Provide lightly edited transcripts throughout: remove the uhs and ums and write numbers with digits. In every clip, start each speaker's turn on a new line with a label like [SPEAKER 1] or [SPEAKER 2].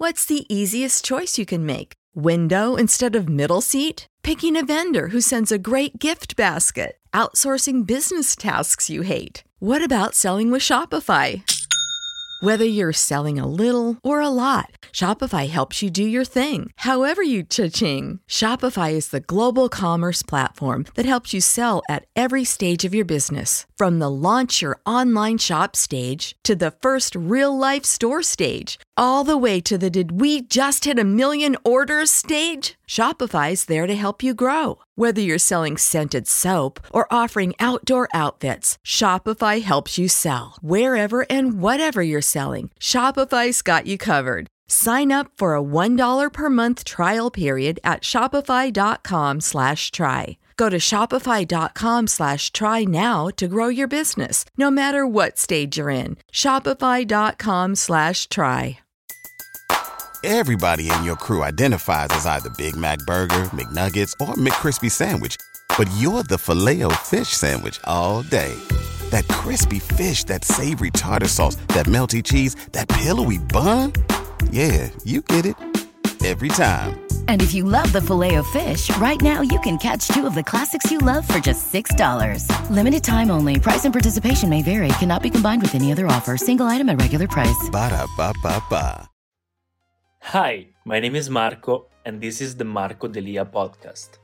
[SPEAKER 1] What's the easiest choice you can make? Window instead of middle seat? Picking a vendor who sends a great gift basket? Outsourcing business tasks you hate? What about selling with Shopify? Whether you're selling a little or a lot, Shopify helps you do your thing, however you cha-ching. Shopify is the global commerce platform that helps you sell at every stage of your business. From the launch your online shop stage to the first real-life store stage, all the way to the did we just hit a million orders stage. Shopify's there to help you grow. Whether you're selling scented soap or offering outdoor outfits, Shopify helps you sell. Wherever and whatever you're selling, Shopify's got you covered. Sign up for a $1 per month trial period at shopify.com/try. Go to shopify.com/try now to grow your business, no matter what stage you're in. Shopify.com/try.
[SPEAKER 2] Everybody in your crew identifies as either Big Mac Burger, McNuggets, or McCrispy Sandwich. But you're the Filet-O-Fish Sandwich all day. That crispy fish, that savory tartar sauce, that melty cheese, that pillowy bun. Yeah, you get it. Every time.
[SPEAKER 3] And if you love the Filet-O-Fish, right now you can catch two of the classics you love for just $6. Limited time only. Price and participation may vary. Cannot be combined with any other offer. Single item at regular price.
[SPEAKER 2] Ba-da-ba-ba-ba.
[SPEAKER 4] Hi, my name is Marco, and this is the Marco Delia podcast.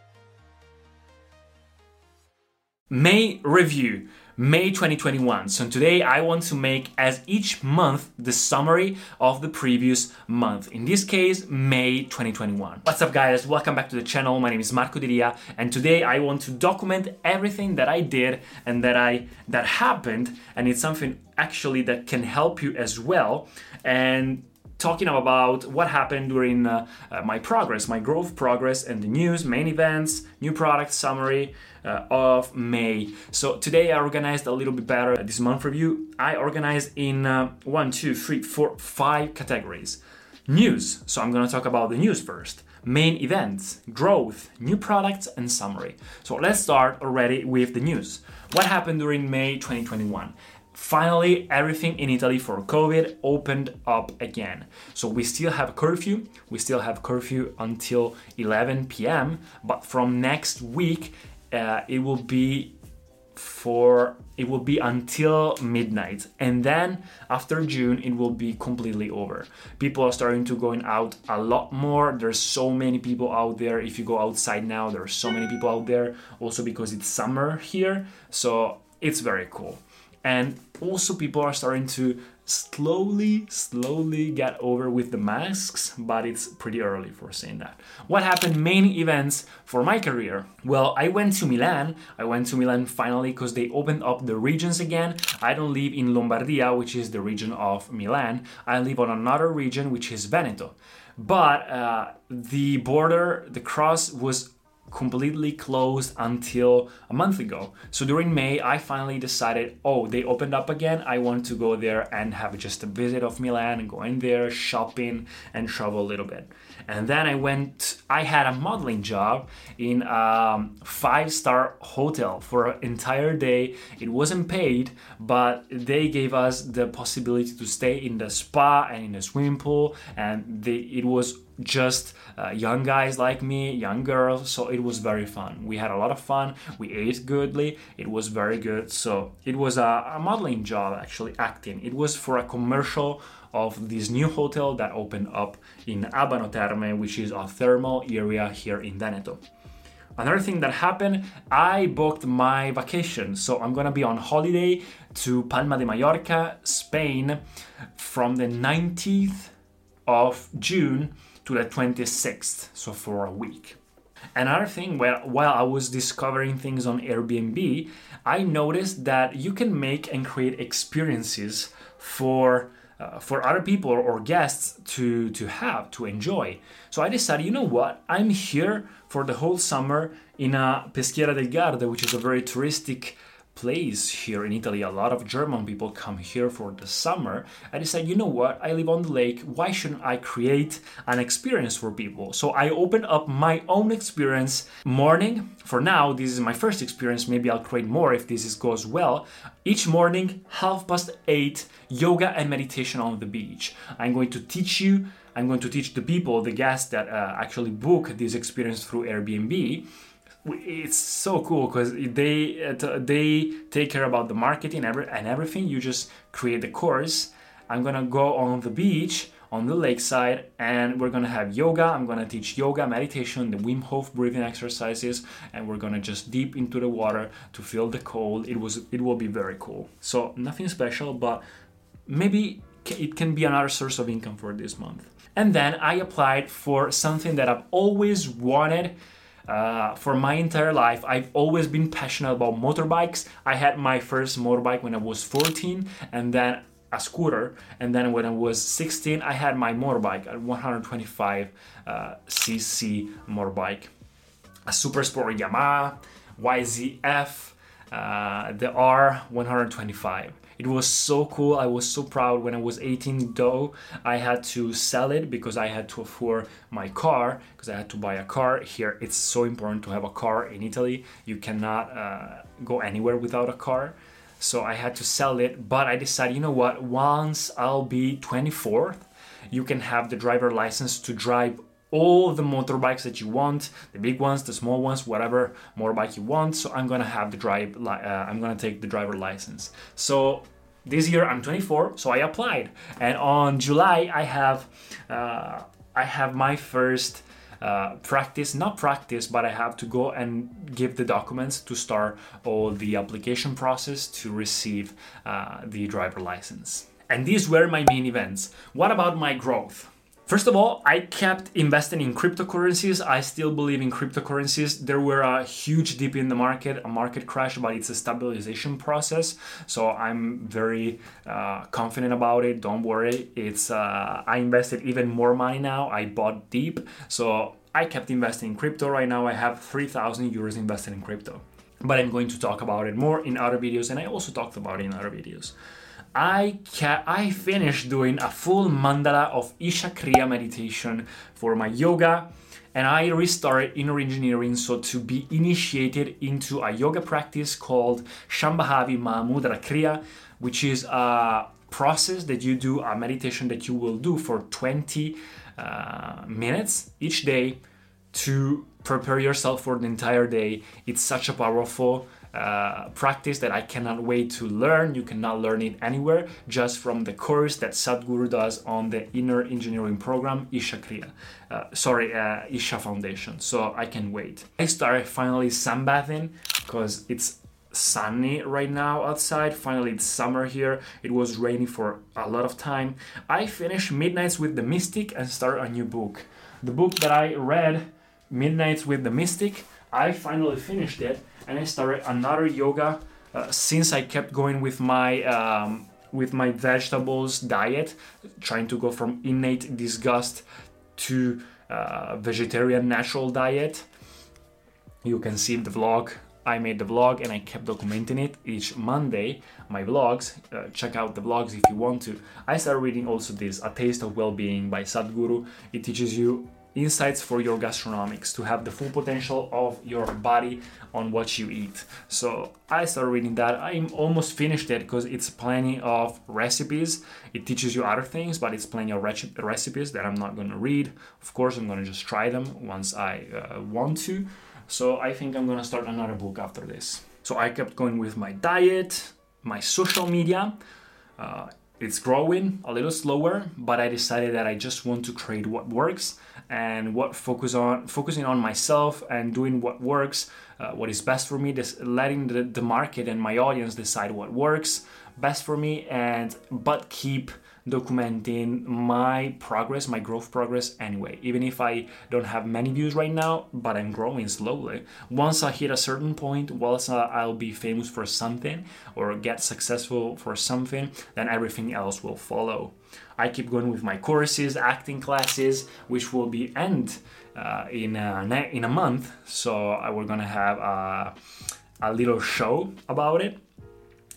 [SPEAKER 4] May review, May 2021. So today I want to make, as each month, the summary of the previous month. In this case, May 2021. What's up, guys? Welcome back to the channel. My name is Marco Delia, and today I want to document everything that I did and that happened, and it's something actually that can help you as well. And talking about what happened during my progress, my growth progress, and the news, main events, new product summary of May. So today I organized a little bit better this month review. I organized in 5 categories. News, so I'm gonna talk about the news first. Main events, growth, new products, and summary. So let's start already with the news. What happened during May 2021? Finally, everything in Italy for COVID opened up again. So we still have curfew. We still have curfew until 11 p.m. But from next week, it will be until midnight, and then after June it will be completely over. People are starting to going out a lot more. There's so many people out there. If you go outside now, there are so many people out there. Also because it's summer here, so it's very cool. And also people are starting to slowly get over with the masks, but it's pretty early for saying that. What happened? Main events for my career. Well, I went to Milan. Finally because they opened up the regions again. I don't live in Lombardia, which is the region of Milan. I live on another region, which is Veneto. But the border, the cross was completely closed until a month ago. So during May, I finally decided, they opened up again. I want to go there and have just a visit of Milan and go in there, shopping and travel a little bit. And then I had a modeling job in a 5-star hotel for an entire day. It wasn't paid, but they gave us the possibility to stay in the spa and in the swimming pool. And it was just young guys like me, young girls, so it was very fun. We had a lot of fun. We ate goodly. It was very good. So it was a modeling job, actually, acting. It was for a commercial of this new hotel that opened up in Abano Terme, which is a thermal area here in Veneto. Another thing that happened, I booked my vacation. So I'm gonna be on holiday to Palma de Mallorca, Spain, from the 19th of June to the 26th, so for a week. Another thing, while I was discovering things on Airbnb, I noticed that you can make and create experiences for other people or guests to enjoy. So I decided, you know what? I'm here for the whole summer in Peschiera del Garda, which is a very touristic place here in Italy. A lot of German people come here for the summer. I decided, you know what? I live on the lake. Why shouldn't I create an experience for people? So I opened up my own experience morning. For now, this is my first experience. Maybe I'll create more if this goes well. Each morning, 8:30, yoga and meditation on the beach. I'm going to teach you I'm going to teach the people, the guests that actually book this experience through Airbnb. It's so cool because they take care about the marketing and everything. You just create the course. I'm gonna go on the beach, on the lakeside, and we're gonna have yoga. I'm gonna teach yoga, meditation, the Wim Hof breathing exercises, and we're gonna just deep into the water to feel the cold. It will be very cool. So nothing special, but maybe it can be another source of income for this month. And then I applied for something that I've always wanted. For my entire life, I've always been passionate about motorbikes. I had my first motorbike when I was 14, and then a scooter, and then when I was 16, I had my motorbike, a 125 cc motorbike, a super sport Yamaha YZF, the R125. It was so cool. I was so proud. When I was 18 though, I had to sell it because I had to afford my car, because I had to buy a car. Here it's so important to have a car in Italy. You cannot go anywhere without a car. So I had to sell it, but I decided, you know what, once I'll be 24, you can have the driver license to drive all the motorbikes that you want, the big ones, the small ones, whatever motorbike you want. So I'm gonna have I'm gonna take the driver license. So this year I'm 24, so I applied, and on July I have my first not practice, but I have to go and give the documents to start all the application process to receive the driver license. And these were my main events. What about my growth? First of all, I kept investing in cryptocurrencies. I still believe in cryptocurrencies. There were a huge dip in the market, a market crash, but it's a stabilization process. So I'm very confident about it. Don't worry. I invested even more money now. I bought deep. So I kept investing in crypto. Right now I have 3,000 euros invested in crypto. But I'm going to talk about it more in other videos, and I also talked about it in other videos. I finished doing a full mandala of Isha Kriya meditation for my yoga, and I restarted inner engineering, so to be initiated into a yoga practice called Shambhavi Mahamudra Kriya, which is a process that you do, a meditation that you will do for 20 minutes each day to prepare yourself for the entire day. It's such a powerful practice that I cannot wait to learn. You cannot learn it anywhere, just from the course that Sadhguru does on the inner engineering program, Isha Kriya. Isha Foundation. So I can wait. I started finally sunbathing because it's sunny right now outside. Finally, it's summer here. It was rainy for a lot of time. I finished Midnights with the Mystic and started a new book. The book that I read, Midnights with the Mystic, I finally finished it, and I started another yoga since I kept going with my vegetables diet, trying to go from innate disgust to vegetarian natural diet. You can see the vlog. I made the vlog and I kept documenting it each Monday, my vlogs. Check out the vlogs if you want to. I started reading also this, A Taste of Well-Being by Sadhguru. It teaches you insights for your gastronomics, to have the full potential of your body on what you eat. So I started reading that. I'm almost finished it because it's plenty of recipes. It teaches you other things, but it's plenty of recipes that I'm not going to read. Of course, I'm going to just try them once I want to. So I think I'm going to start another book after this. So I kept going with my diet, my social media. It's growing a little slower, but I decided that I just want to create what works and focusing on myself and doing what works, what is best for me, letting the market and my audience decide what works best for me, but keep documenting my progress, my growth progress anyway. Even if I don't have many views right now, but I'm growing slowly. Once I hit a certain point, once I'll be famous for something or get successful for something, then everything else will follow. I keep going with my courses, acting classes, which will be end in a month. So we're gonna have a little show about it.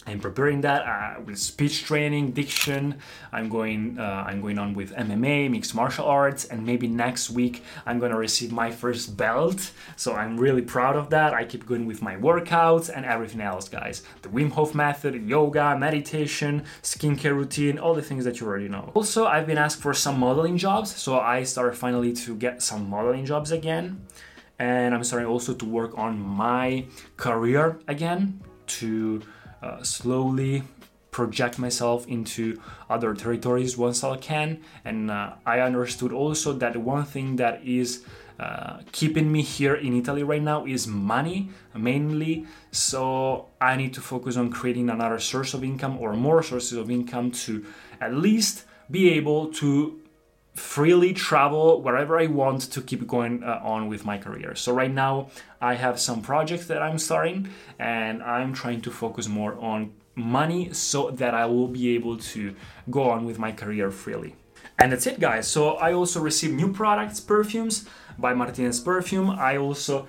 [SPEAKER 4] I'm preparing that with speech training, diction. I'm going on with MMA, mixed martial arts, and maybe next week I'm gonna receive my first belt. So I'm really proud of that. I keep going with my workouts and everything else, guys. The Wim Hof method, yoga, meditation, skincare routine, all the things that you already know. Also, I've been asked for some modeling jobs, so I started finally to get some modeling jobs again, and I'm starting also to work on my career again to slowly project myself into other territories once I can. And I understood also that one thing that is keeping me here in Italy right now is money mainly. So I need to focus on creating another source of income or more sources of income to at least be able to freely travel wherever I want to keep going on with my career. So right now I have some projects that I'm starting, and I'm trying to focus more on money so that I will be able to go on with my career freely. And that's it, guys. So I also received new products, perfumes by Martinez Perfume. I also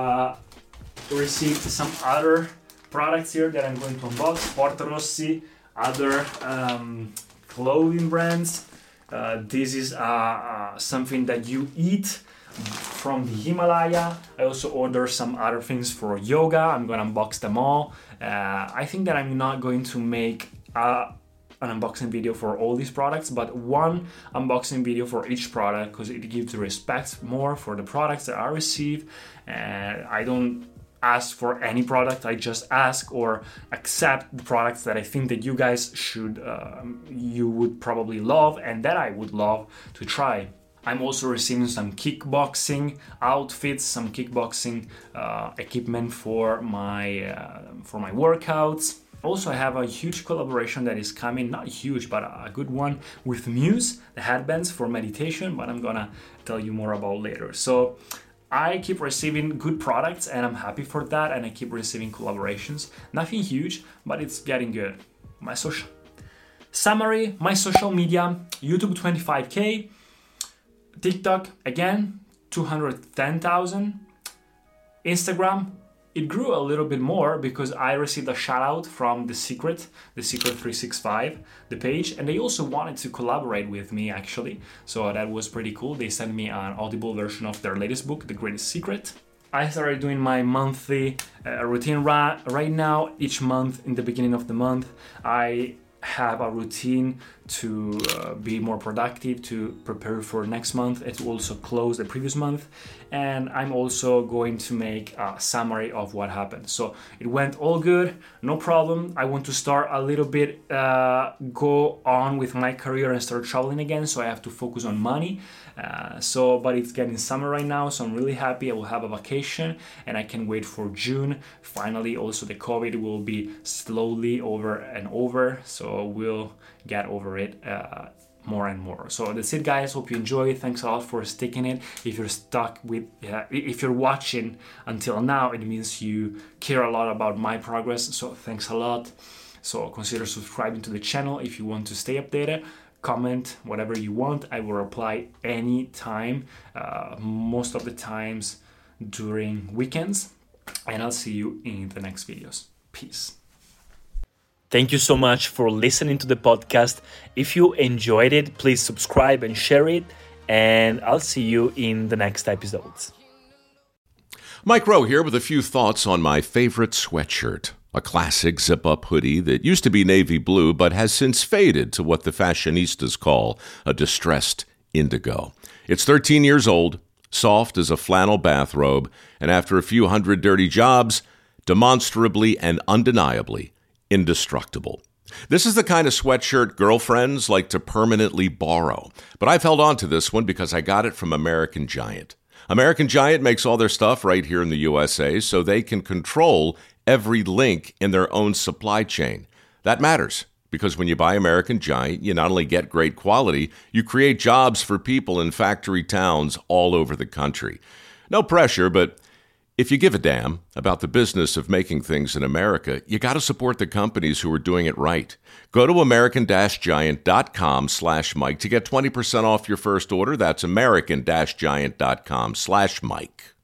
[SPEAKER 4] received some other products here that I'm going to unbox. Porto Rossi, other clothing brands. This is something that you eat from the Himalaya. I also ordered some other things for yoga. I'm gonna unbox them all. I think that I'm not going to make an unboxing video for all these products, but one unboxing video for each product, because it gives respect more for the products that I receive. And I don't ask for any product, I just ask or accept the products that I think that you guys should, you would probably love and that I would love to try. I'm also receiving some kickboxing outfits, some kickboxing equipment for my workouts. Also, I have a huge collaboration that is coming, not huge, but a good one with Muse, the headbands for meditation, but I'm gonna tell you more about later. So I keep receiving good products and I'm happy for that, and I keep receiving collaborations. Nothing huge, but it's getting good. My social summary, my social media, YouTube 25K, TikTok again 210,000, Instagram it grew a little bit more because I received a shout out from The Secret 365, the page, and they also wanted to collaborate with me actually. So that was pretty cool. They sent me an audible version of their latest book, The Greatest Secret. I started doing my monthly routine right now. Each month, in the beginning of the month, I have a routine to be more productive, to prepare for next month, and to also close the previous month. And I'm also going to make a summary of what happened. So it went all good, no problem. I want to start a little bit, go on with my career and start traveling again. So I have to focus on money. But it's getting summer right now, so I'm really happy. I will have a vacation and I can wait for June. Finally, also the COVID will be slowly over, so we'll get over it more and more. So that's it, guys. Hope you enjoy it. Thanks a lot for sticking it. If you're stuck with, if you're watching until now, it means you care a lot about my progress. So thanks a lot. So consider subscribing to the channel if you want to stay updated. Comment whatever you want. I will reply anytime, most of the times during weekends, and I'll see you in the next videos. Peace. Thank you so much for listening to the podcast. If you enjoyed it, please subscribe and share it, and I'll see you in the next episodes.
[SPEAKER 5] Mike Rowe here with a few thoughts on my favorite sweatshirt. A classic zip-up hoodie that used to be navy blue but has since faded to what the fashionistas call a distressed indigo. It's 13 years old, soft as a flannel bathrobe, and after a few hundred dirty jobs, demonstrably and undeniably indestructible. This is the kind of sweatshirt girlfriends like to permanently borrow, but I've held on to this one because I got it from American Giant. American Giant makes all their stuff right here in the USA so they can control every link in their own supply chain. That matters because when you buy American Giant, you not only get great quality, you create jobs for people in factory towns all over the country. No pressure, but if you give a damn about the business of making things in America, you got to support the companies who are doing it right. Go to American-Giant.com/Mike to get 20% off your first order. That's American-Giant.com/Mike.